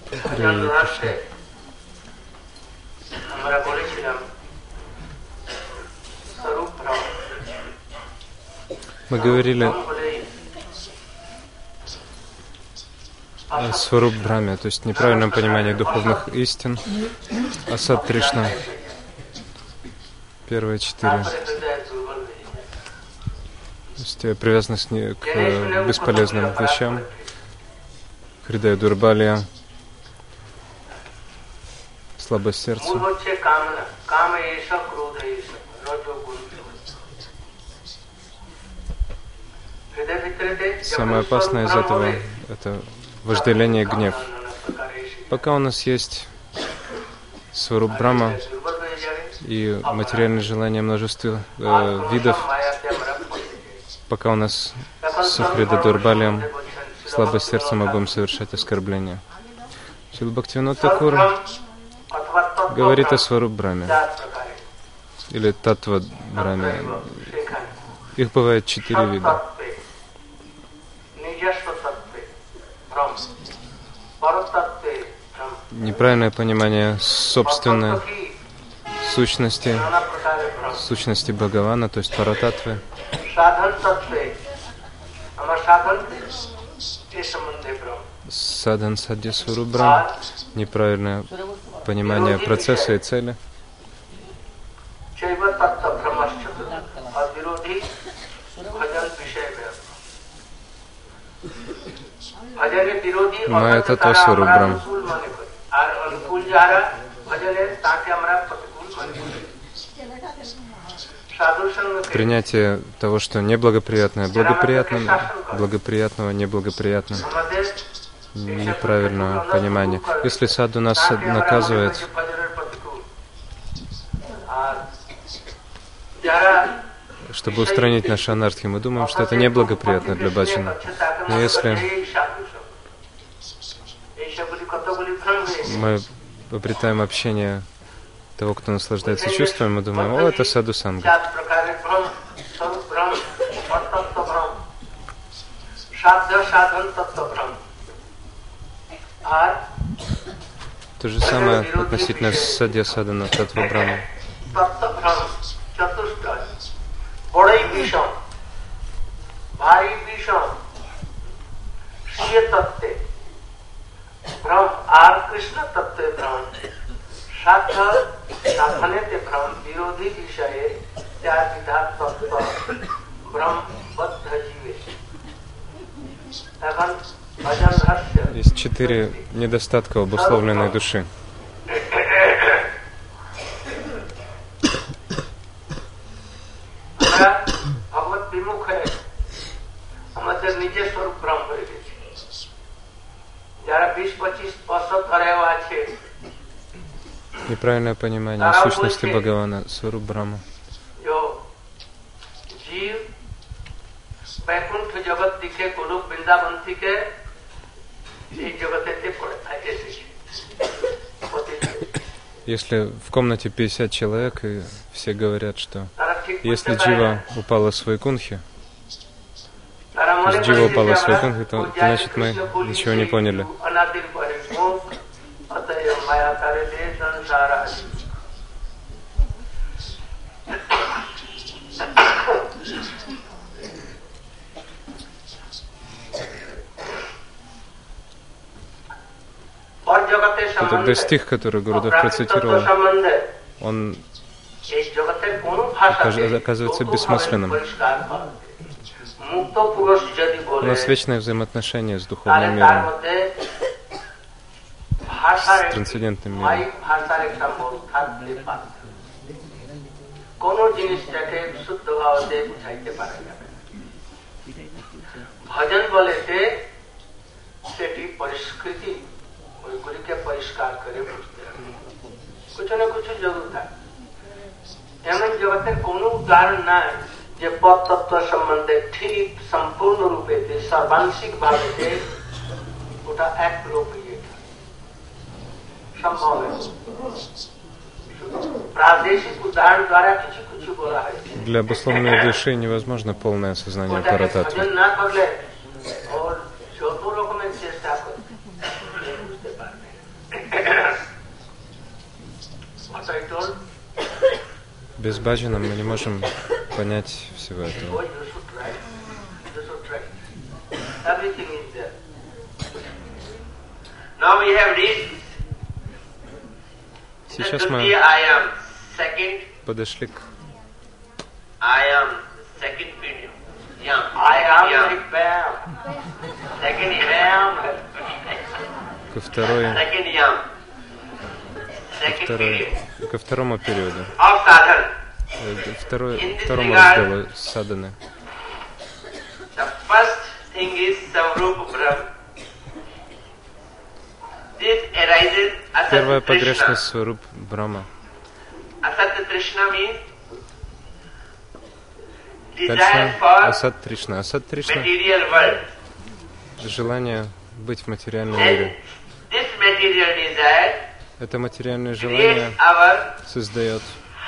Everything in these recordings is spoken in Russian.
Харе Кришна. Мы говорили о Сваруб Брахме, то есть неправильном понимании духовных истин, Асад Тришна. Первые 4. То есть привязанность к бесполезным вещам, Хридая Дурбалия, слабость сердца. Самое опасное из этого — это вожделение и гнев. Пока у нас есть Сваруб Брахма и материальные желания множества видов, пока у нас Сухрида Дурбалиям, слабость сердца, мы будем совершать оскорбления. Шрила Бхактивинода Тхакур говорит о Сваруб Брахме или Татва Брахме. Их бывает 4 вида. Неправильное понимание собственной сущности Бхагавана, то есть Парататвы. Садан Садья Сваруб Брахма. Неправильное понимание процесса и цели. Майя Татва Сваруб Брахма. Принятие того, что неблагоприятное благоприятным, благоприятного неблагоприятным. Неправильное понимание. Если саду нас наказывает, чтобы устранить наши анархи, мы думаем, что это неблагоприятно для баджана. Но если мы обретаем общение того, кто наслаждается чувствами, мы думаем: о, это саду санга. То же самое относительно садья садана татва брахма. Есть 4 недостатка обусловленной души. Неправильное понимание сущности Бхагавана, Сваруб Брахма. Если в комнате 50 человек, и все говорят, что если джива упала с вайкунхи, то есть джива упала с вайкунхи, то значит мы ничего не поняли. Тогда стих, который Гурудев процитировал, он оказывается бессмысленным. У нас вечное взаимоотношение с духовным миром, с трансцендентным миром. যে পদতত্ত্ব সম্বন্ধে ঠিক সম্পূর্ণ রূপেতে সর্বাংশিক ভাবে ওটা এক লোক সম্ভব প্রাদেশিক উদাহরণ দ্বারা কিছু কিছু বলা হয়। Для обусловленной души невозможно полное осознание Парататвы. Без баджана мы не можем понять всего этого. Сейчас мы подошли к ко второму периоду, второму разделу садханы. Первая погрешность Сваруп Брахма. Дальше Асат Тришна. Асат Тришна — желание быть в материальном мире. Это материальное желание создает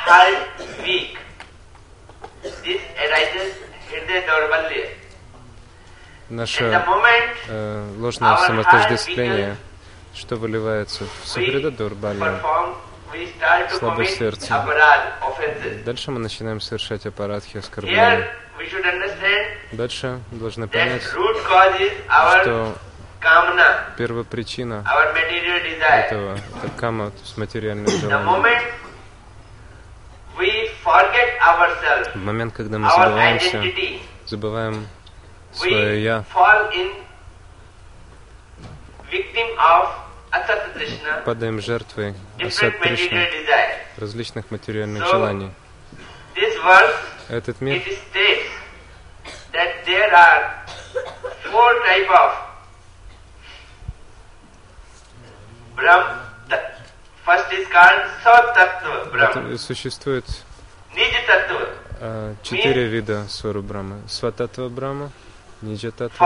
наше ложное самоотождествление, что выливается в Сухрида Дурбалия, слабое сердце. Дальше мы начинаем совершать апарадхи, оскорбления. Дальше должны понять, что первопричина этого — это кама, то есть материальное желание. В момент, когда мы забываем свое «я», падаем жертвой Асат Тришна, различных материальных желаний. Этот мир существует 4 вида Сваруп Брахмы. Свататтва Брахма, Ниджататтва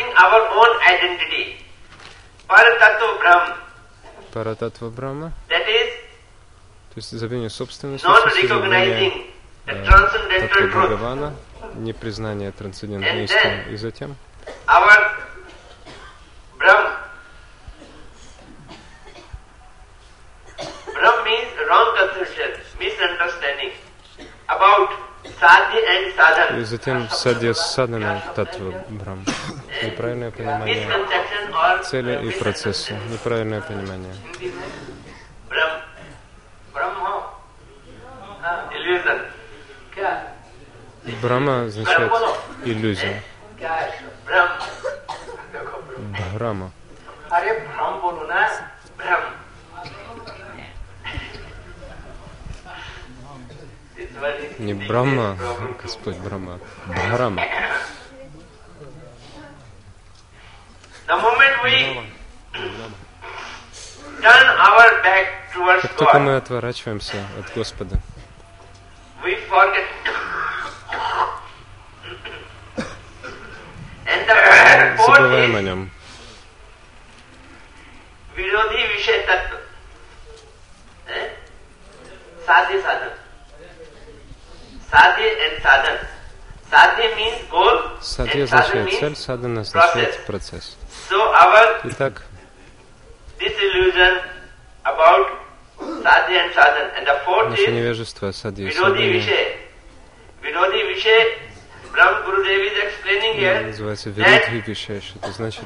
Брахма, Парататтва Брахма, то есть забвение собственной сущности, забвение Таттва Бхагавана, непризнание трансцендентной истины. И затем и затем садья садхана Таттва Брахма. Неправильное понимание цели и процесса. Неправильное понимание. Брахма означает иллюзия. Брахма. Не Брахма, Господь Брахма, Брахма. Как только мы отворачиваемся от Господа, забываем о Нем. Садхи означает цель, садхана означает процесс. Итак, наше невежество о садхи и садхане называется Вирудхи Вишеш. Это значит,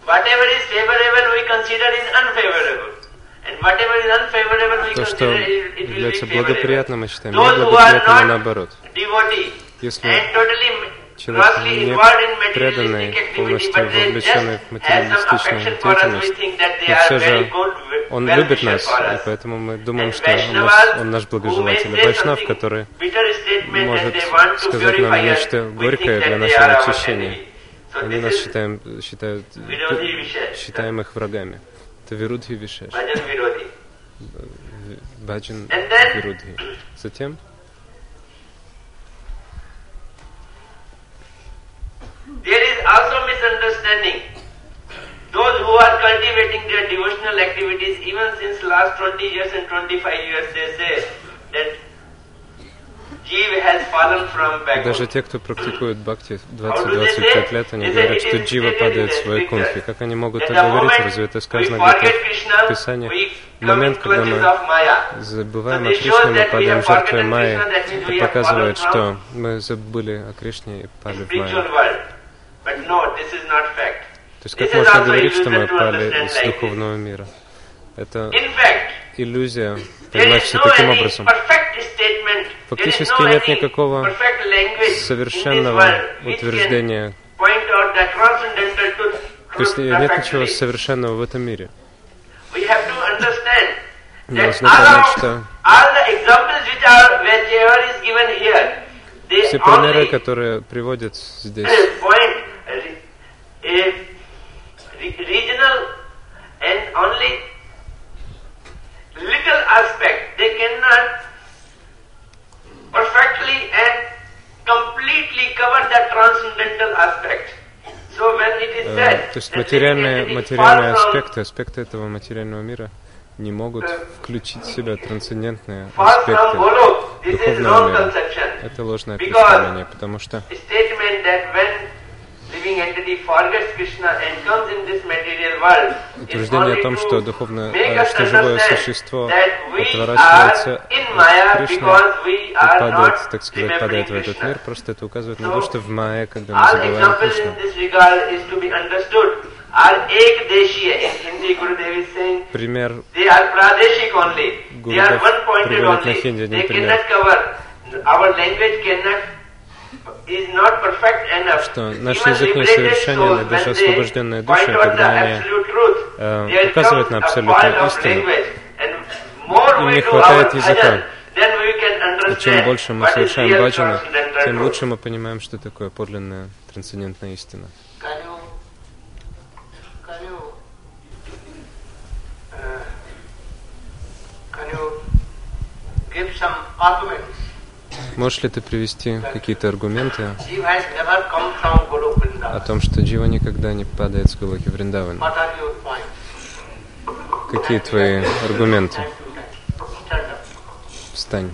то, что является благоприятным, мы считаем неблагоприятным, и наоборот. Если человек не преданный, полностью вовлеченный в материалистичную деятельность, но все же он любит нас, и поэтому мы думаем, что он наш благожелатель. Вайшнав, который может сказать нам нечто горькое для нашего очищения. Они нас считаем их врагами. Это Вирудхи Вишеш. Баджан Вирудхи. Затем there is also misunderstanding. Those who are cultivating their devotional activities, even since last 20 years and 25 years, they say that Даже те, кто практикует бхакти 20-25 лет, они говорят, что джива падает в свои кунхи. Как они могут так говорить? Разве это сказано где-то в Писании? В момент, когда мы забываем о Кришне, мы падаем жертвой Майи. Это показывает, что мы забыли о Кришне и пали в Майю. То есть как можно говорить, что мы пали из духовного мира? Это иллюзия, понимать все таким образом. Фактически нет никакого совершенного утверждения. То есть нет ничего совершенного в этом мире. Нужно понять, что все примеры, которые приводят здесь, perfectly and completely cover that transcendental aspect. So when it is said, то есть материальные аспекты этого материального мира не могут включить в себя трансцендентные аспекты духовного мира. Это ложное представление, потому что утверждение о том, что что живое существо отворачивается от Кришны и падает, так сказать, падает в этот мир, просто это указывает на то, что в Майе, когда мы забываем Кришну. Пример Гурудев приводит на хинди один пример, что наш язык несовершенен, и даже освобожденные души, когда они указывают на абсолютную истину, им не хватает языка. И чем больше мы совершаем баджаны, тем лучше мы понимаем, что такое подлинная трансцендентная истина. Можешь ли ты привести какие-то аргументы о том, что джива никогда не падает с Голоки Вриндавана? Какие твои аргументы? Встань.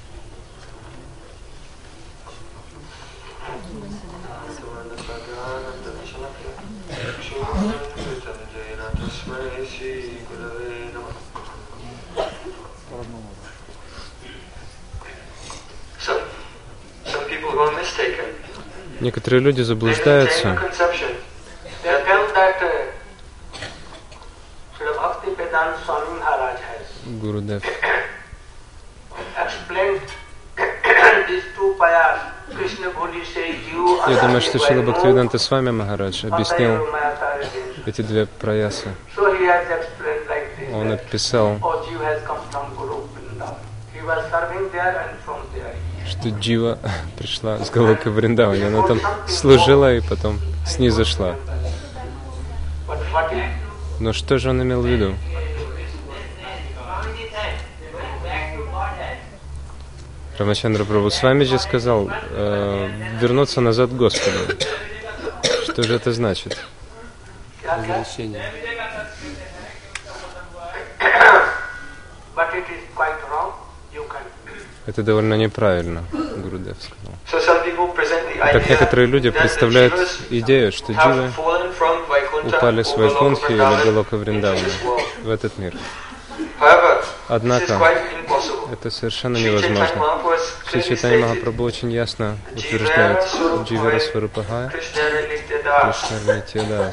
Некоторые люди заблуждаются. Гурудев я думаю, что Шрила Бхактивиданта Свами Махарадж объяснил эти две праясы. Он описал, что джива пришла с Голоки Вриндавани. Она там служила и потом снизошла. Но что же он имел в виду? Рамачандра Прабху Свамиджи сказал вернуться назад к Господу. Что же это значит? Возвращение. Это довольно неправильно, Гурудев сказал. Так некоторые люди представляют идею, что дживы упали с Вайкунхи или Голока Вриндавана в этот мир. Однако, это совершенно невозможно. Шри Чайтанья Махапрабху очень ясно утверждает Дживара Сварупахая, Кришна Нитьядас.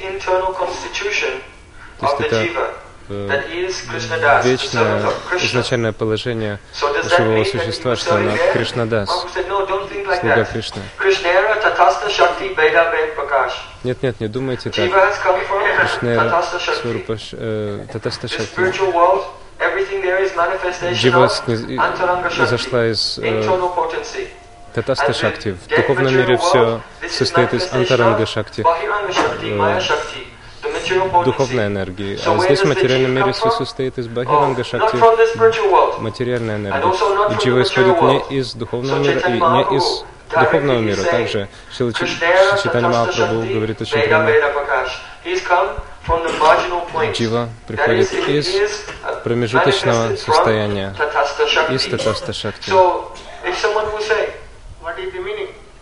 То есть это вечное изначальное положение живого существа, что она Кришнадас, слуга Кришны. Нет, не думайте так. Кришна Татаста Шакти. Джива зашла из Татаста Шакти. В духовном мире все состоит из Антаранга Шакти, духовной энергии. А здесь в материальном мире все состоит из Бахиранга Шакти, материальной энергии. И джива исходит не из духовного мира и не из духовного мира. Также Шрила Чайтанья Махапрабху говорит очень прямо. Джива приходит из промежуточного состояния, из Татаста Шакти.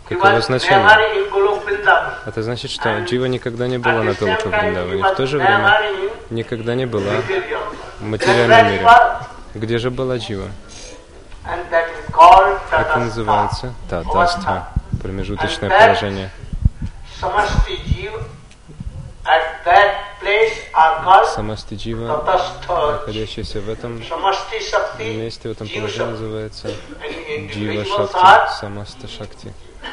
Каково значение? Это значит, что Джива никогда не была на Голока Вриндаване. В то же время никогда не была в материальном мире. Где же была Джива? Это называется татастха, промежуточное положение. Самасти Джива, находящийся в этом месте, в этом положении, называется Джива Шакти, Самаста Шакти.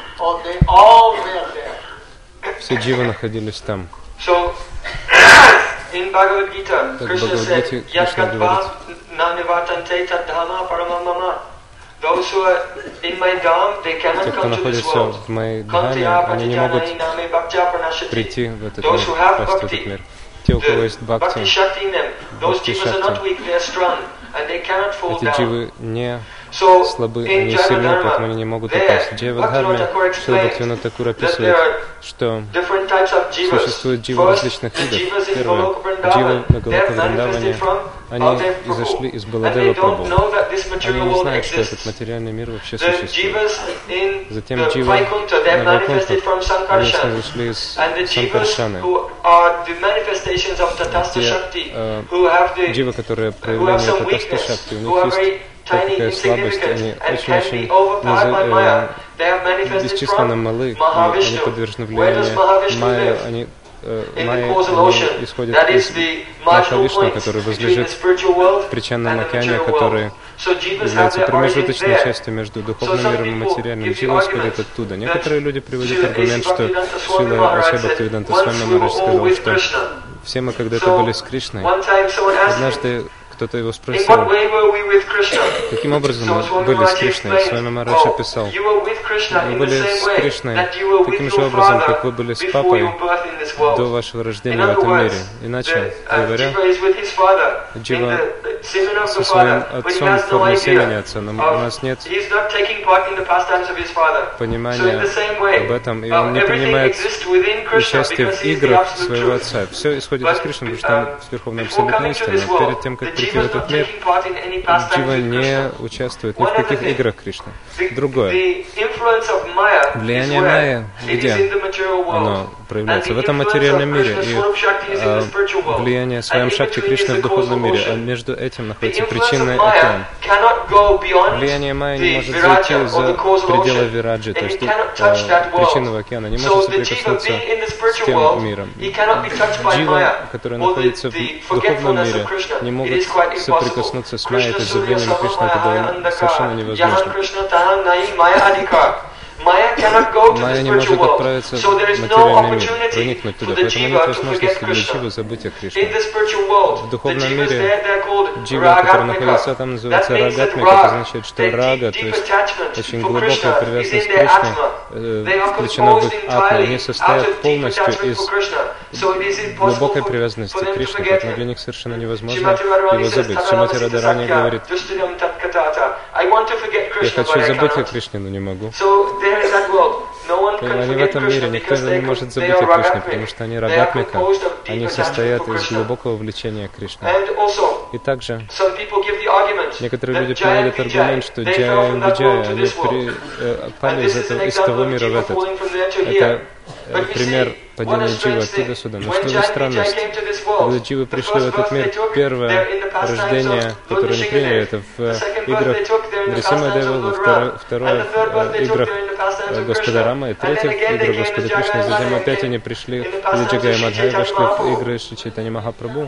Все дживы находились там. In Bhagavad Gita, Так в Krishna Бхагавадгите said, Кришна говорит, those who are in my dham, they те, cannot кто come to this находится world. в моей дхаме, они не могут прийти в этот мир, попасть в этот мир. Те, у кого есть бхакти, Bhakti Shakti in them, those Bhakti jivas are not Shakti. weak, they are strong, and they cannot fall эти down. дживы не So, слабы, in они сильны, Jnana поэтому они не могут there, упасть. В Джайвадхарме Bhaktivinoda Thakur Шрила explains Бхактивинода Тхакур that описывает, there are что different types of jivas. существует дживы First, различных the видов. jivas in Первое, Goloka дживы Vrindavan, на they Голока have manifested Вриндаване, from они Baladev изошли Prabhu. из And Баладева they don't Прабху. know that this Они material не world знают, что этот exists. материальный мир вообще The существует. jivas in Затем the дживы Vaikuntha, they have на manifested from Вайкунтхах, они Sankarshan. изошли из And the jivas Санкаршаны. who are the manifestations of Tatastha Те Shakti, who have the дживы, которые who have проявление some Татаста weakness, Шакти, у who are них very есть tiny, такая слабость, insignificant, они and can be очень overpowered by Maya. They have manifested бесчисленно from малы, и они Mahavishnu. подвержены Where does влиянию Mahavishnu Майя, live? они In the Майя, causal они ocean. исходят That из is the marginal Махавишну, point который between the возлежит spiritual world в причинном and the океане, material который world. So jivas have является their origins промежуточной there. частью между духовным some миром и people материальным. give the Джива исходит argument оттуда. that Некоторые люди приводят Srila аргумент, что Bhaktivedanta Swami Шрила Maharaj Ача said, Бхактивиданта once Свами we were Махарадж all сказал, with что Krishna. все мы когда-то So, были с Кришной. one time someone asked him, Однажды кто-то его in спросил, what way were we with Krishna? каким образом So мы Swami были с Maharaj Кришной. explained, Свами Махарадж описал, you were with Krishna мы in the были same с way Кришной that you were with таким же your образом, father как вы были с before папой your birth in this world. до вашего In рождения в other этом words, мире. Иначе говоря, Jiva is with his father in Джива the semen of со the своим father, but he отцом has в no форме семени idea. отца, но у нас нет He's not taking part in the pastimes of his father. So in понимания the same way, об этом, и он не everything принимает exists within Krishna участие because в he is the играх absolute своего truth. отца. Все исходит из Кришны, потому что он верховная Before абсолютная coming to истина. this Но world, перед тем, как the прийти Jiva в is этот not мир, taking part in any pastimes Джива with не Krishna. участвует ни в каких играх Кришны. Другое. Влияние Майя, где оно проявляется? В этом материальном мире. И влияние своем Шакти Кришны в духовном мире. А между этим находится причинный океан. Влияние Майя не может зайти за пределы Вираджи, то есть причинного океана, не может соприкоснуться с тем миром. Джива, который находится в духовном мире, не могут соприкоснуться с Майей, это забвением Кришны, это совершенно невозможно. Майя не может отправиться в материальный мир, проникнуть туда, поэтому нет возможности для Дживы забыть о Кришне. В духовном мире Джива, который находится там, называется рагатмик, это означает, что рага, то есть очень глубокая привязанность к Кришне, включена в их атму. Они состоят полностью из глубокой привязанности к Кришне, поэтому для них совершенно невозможно его забыть. Шримати Радарани говорит, я хочу забыть о Кришне, но не могу. Они в этом мире, никто не может забыть о Кришне, потому что они рагатмика, они состоят из глубокого влечения к Кришне. И также некоторые люди приводят аргумент, что Джая и Виджая, они пали из того мира в этот. Это пример падения Дживы оттуда сюда. Но что за странность? Когда Дживы пришли в этот мир, первое рождение, которое они приняли, это в играх Нрисимха Девы, второе в играх Господа Рама, и третье в играх Господа Кришны. Затем опять они пришли в Джагая Мадхай, вошли в игры Шри Чайтанья Махапрабху.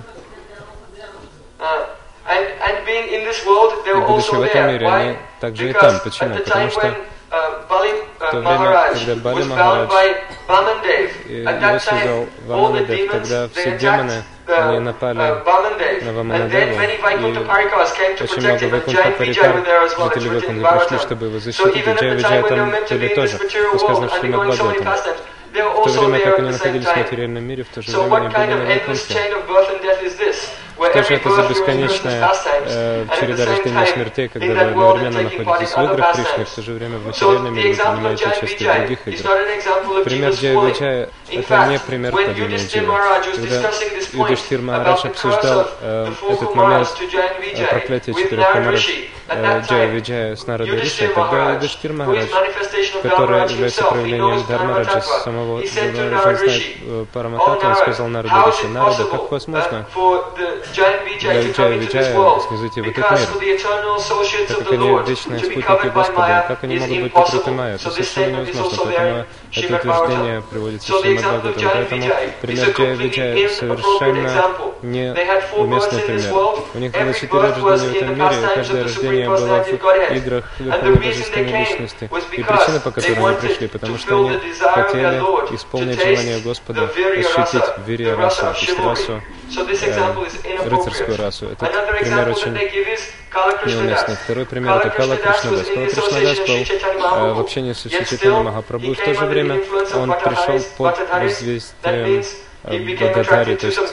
И будучи в этом мире, они также и там. Почему? Потому что в то время, когда Бали Махарадж его создал Ваманадев, тогда все демоны, они напали на Ваманадеву, и очень много Вайкунтха Парикар, жители Вайкунтха, пришли, чтобы его защитить, и Джая Виджая там были тоже, сказано в Шримад Бхагаватам. В то время, как они находились в материальном мире, в то же время они были на Вайкунтхе. Что же это за бесконечная череда рождения и смертей, когда вы одновременно находитесь в играх Кришны, в то же время в материальном мире вы принимаете участие в других играх? Пример Джая Виджая — это не пример падения Дживы. Когда Юдхиштхир Махарадж обсуждал этот момент проклятия 4 Камаров Джая Виджая с Нарадой Риши, тогда Юдхиштхир Махарадж, который является проявлением Дхармараджа, самого Дхармараджа знает Парамататтву, он сказал Нараде Риши: Нарада, как возможно для Джая Виджая снизойти в этот мир, так как они вечные спутники Господа, как они могут быть покрыты майя? Это совершенно невозможно, поэтому это утверждение приводится в Шримад-Бхагаватам. Поэтому пример Джая Виджая совершенно неуместный пример. У них было 4 рождения в этом мире, и каждое рождение было в играх Верховной Божественной Личности. И причина, по которой они пришли, потому что они хотели исполнить желание Господа, ощутить вирья расу, то есть расу, рыцарскую расу. Этот пример очень неуместный. Второй пример — это Кала Кришнадас. Кала Кришнадас был в общении с Чайтаньей Махапрабху, и в то же время он пришел под воздействием Гададари, то есть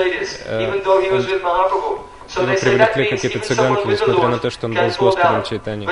его привлекли какие-то цыганки, несмотря на то, что он был с Господом Чайтаньей.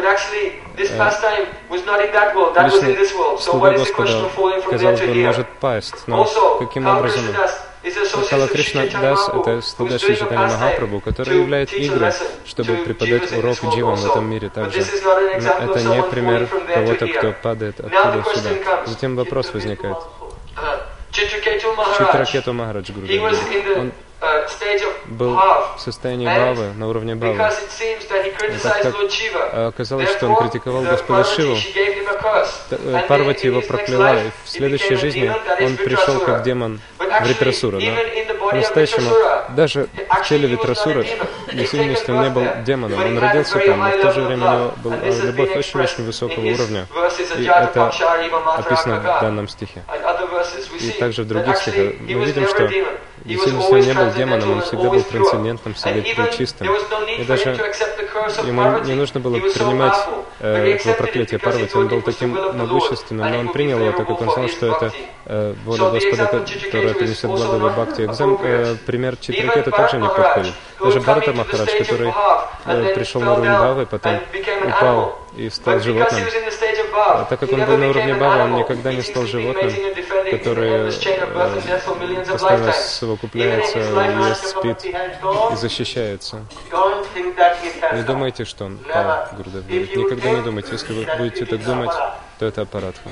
Лично слуга Господа, казалось бы, может пасть, но каким образом? Кала Кришна Дас — это слуга Шри Чайтаньи Махапрабху, который являет игры, чтобы преподать урок дживам в этом мире также. Но это не пример кого-то, кто падает оттуда сюда. Затем вопрос возникает. Читракету Махарадж Гурудев, он был в состоянии бхавы, на уровне бхавы. Так как оказалось, что он критиковал Господа Шиву, Парвати его прокляла, и в следующей жизни он пришел как демон Вритрасура. Но по-настоящему, даже в теле Вритрасура, в действительности он не был демоном, он родился там, но в то же время у него была любовь очень-очень высокого уровня. И это описано в данном стихе. И также в других стихах мы видим, что в действительности он не был демоном, он всегда был трансцендентным, всегда был чистым. И даже ему не нужно было принимать этого проклятия Парвати, он был таким могущественным, но он принял его, так как он знал, что это воля Господа, которая принесет благо в бхакти. Пример Читракета также не подходит. Даже Бхарата Махарадж, который пришел на уровень бхавы, потом упал и стал животным. Так как он был на уровне бхавы, он никогда не стал животным, который постоянно совокупляется, ест, спит и защищается. Не думайте, что он пал, Гурудев говорит. Никогда не думайте. Если вы будете так думать, то это аппаратха.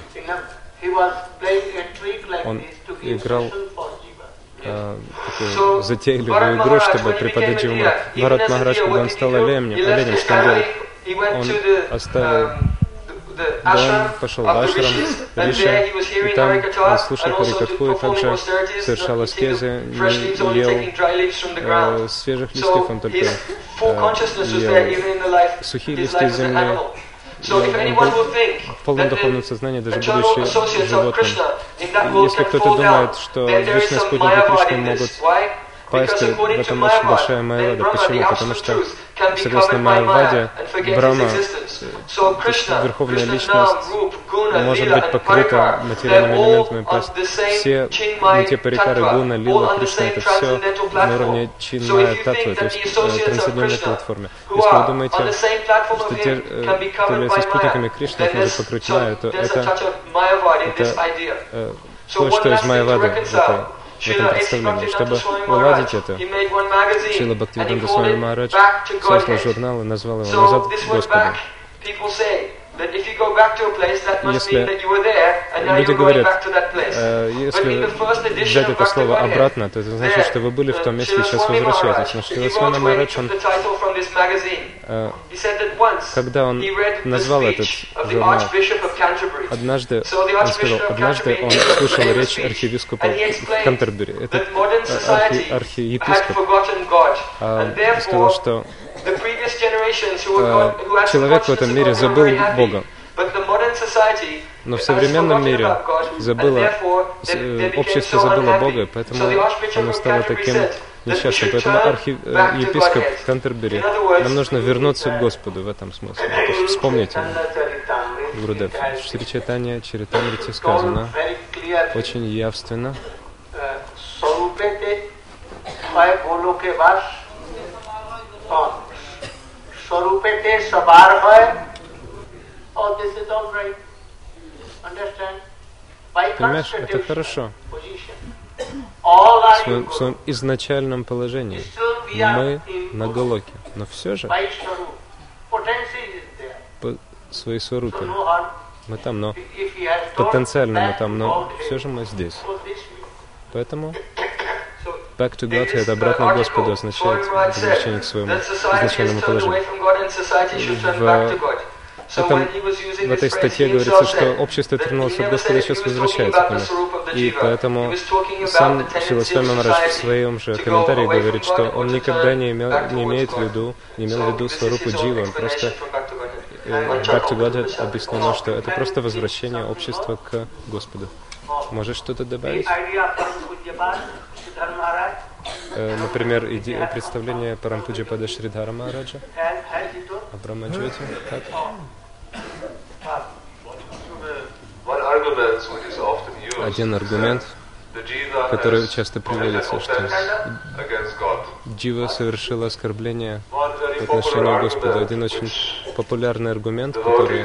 Он играл такую затейливую игру, чтобы преподать дживам. Бхарат Махарадж, когда он стал оленем, что он делал? Он оставил дом, пошел в ашрам, Риши, и там он слушал Харикатху и также совершал аскезы, не ел свежих листьев, он только ел сухие листья земли. Он был в полном духовном сознании, даже будучи животным. Если кто-то думает, что вечные спутники Кришны могут пасть, в этом очень большая майявада. Почему? Потому что, согласно майяваде, Брахма, Верховная Личность, может быть покрыта материальными элементами. Все те парикары, гуна, лила, Кришна, это все на уровне чин-майя татвы, то есть трансцендентной платформе. Если вы думаете, что те, кто является спутниками Кришны, их может покрыть майя, то это кое-что из майявады в этом представлении. Чтобы уладить это, Шрила Бхактивиданта Свами Махарадж создал журнал и назвал его «Назад к Господу». Если люди говорят, если взять это слово обратно, то это значит, что вы были в том месте и сейчас возвращаетесь. Но Шрила Свами Махарадж, когда он назвал этот журнал, однажды он слушал речь архиепископа Кантербери. Этот архиепископ сказал, что человек в этом мире забыл Бога. Но в современном мире общество забыло Бога, поэтому оно стало таким несчастным. Поэтому архиепископ Кантербери, нам нужно вернуться к Господу в этом смысле. То есть вспомните, Гурудев, в Шри Чайтанья Чаритамрите сказано очень явственно, Swarupete sabar hoy. Oh, this is all right. Understand? Понимаешь, это хорошо. В своем изначальном положении мы на Галоке, но все же по своей сварупе мы там, но потенциально мы там, но все же мы здесь. Поэтому back to God, это обратно к Господу означает возвращение к своему изначальному положению. В этой статье говорится, что общество отвернулось от Господа и сейчас возвращается к Нему. И поэтому сам Шрила Свами Махарадж в своем же комментарии говорит, что он никогда не имел в виду сварупу джива, он просто back to God объяснено, что это просто возвращение общества к Господу. Можешь что-то добавить? Например, представление Парампуджапада Шридхара Махараджа о Брахмаджоти. Как? Один аргумент, который часто приводится, что джива совершила оскорбление по отношению к Господу. Один очень популярный аргумент, который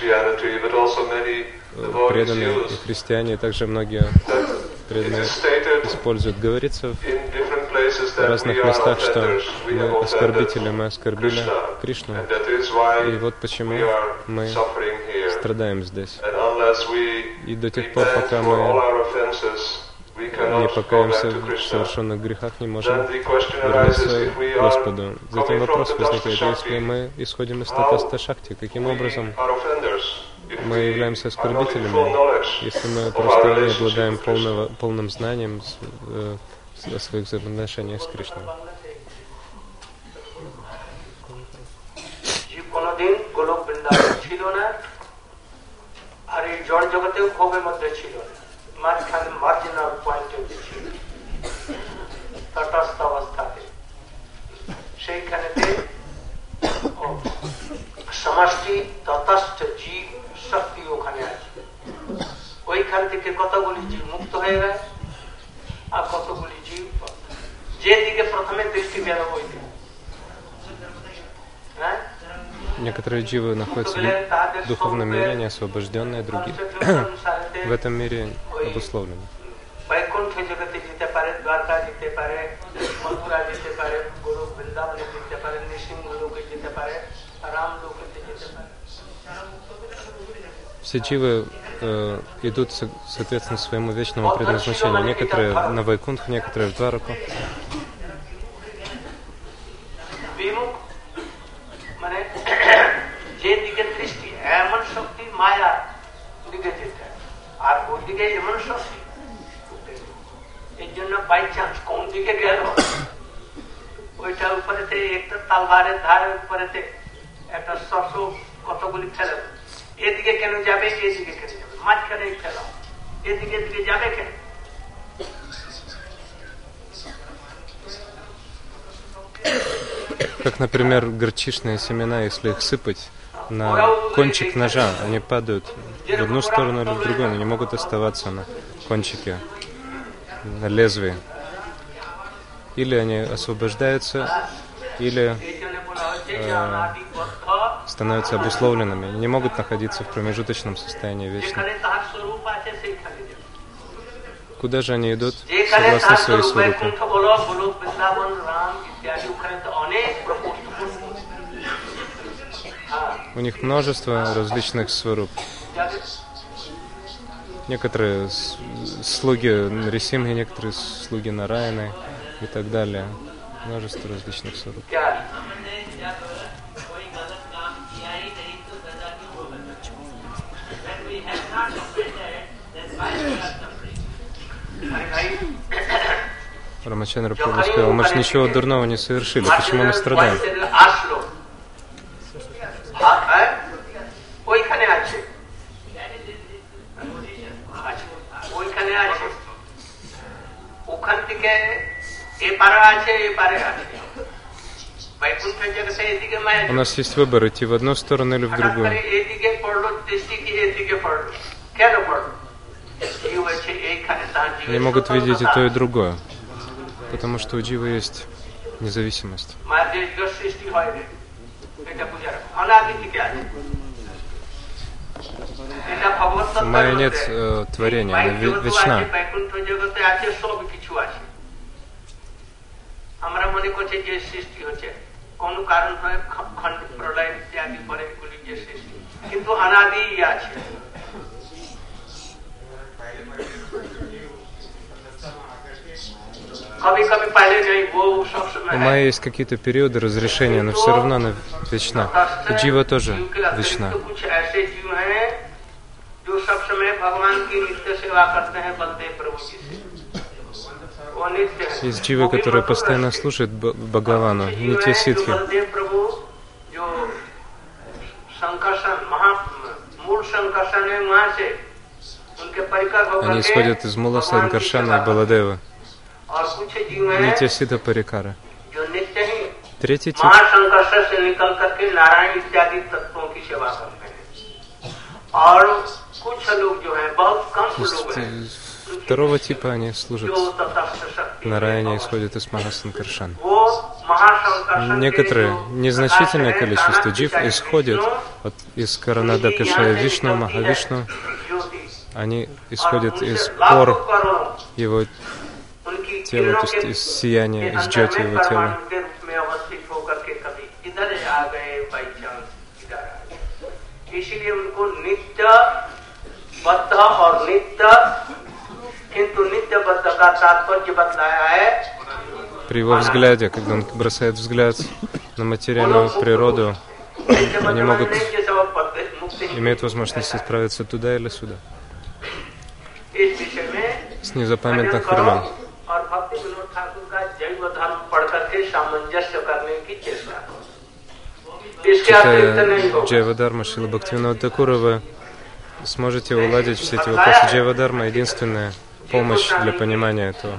преданные и христиане, и также многие преданные используют. Говорится в разных местах, что мы оскорбители, мы оскорбили Кришну. И вот почему мы страдаем здесь. И до тех пор, пока мы не покаемся в совершенных грехах, не можем вернуться к Господу. Затем вопрос возникает, если мы исходим из татаста шакти, каким образом мы являемся оскорбителями, если мы просто не обладаем полным знанием о своих взаимоотношениях с Кришной. সমষ্টি ততস্থ জীব শক্তি ওখানে আছে। ওইখান থেকে কতগুলি জীব মুক্ত হয়ে গেছে আর কতগুলি জীব যেদিকে প্রথমে দৃষ্টি গেল ওই দিকে। Некоторые дживы находятся в духовном мире, они освобожденные, другие в этом мире обусловлены. Все дживы идут соответственно своему вечному предназначению. Некоторые на Вайкунтх, некоторые в Двараку. এদিকে কেন যাবে এদিকে কেন যাবে মাঝখানে ফেলাও এদিকে এদিকে যাবে কেন Как, например, горчичные семена, если их сыпать на кончик ножа, они падают в одну сторону или в другую, они не могут оставаться на кончике, на лезвии. Или они освобождаются, или становятся обусловленными, не могут находиться в промежуточном состоянии вечно. Куда же они идут? Согласно своей сварупе. У них множество различных сваруп. Некоторые слуги Нарисимхи, некоторые слуги Нараяны и так далее. Множество различных сваруп. Рамачандра Прабху сказал, мы же ничего дурного не совершили, почему мы страдаем? У нас есть выбор, идти в одну сторону или в другую. Они могут видеть и то, и другое. Потому что у дживы есть независимость. У Майи нет творения, она вечна. У Майи есть какие-то периоды разрешения, но все равно она вечна. И джива тоже вечна. Есть дживы, которые постоянно слушают Бхагавану, Нитья Сидхи. Они исходят из Мула Санкаршана и Баладева. Нитья Сидха Парикара. Третий тип. Второго типа они служат Нараяне, исходят из Махасанкаршана. Некоторые, незначительное количество джив исходят из Каранадакашая Вишну, Махавишну. Они исходят из пор его тела, то есть из сияния, из джоти его тела. При его взгляде, когда он бросает взгляд на материальную природу, они могут иметь возможность отправиться туда или сюда. С незапамятных времен. Читая Джайва-дарма Шрила Бхактивинода Такура, вы сможете уладить все эти вопросы. Джайва-дарма — единственная помощь для понимания этого.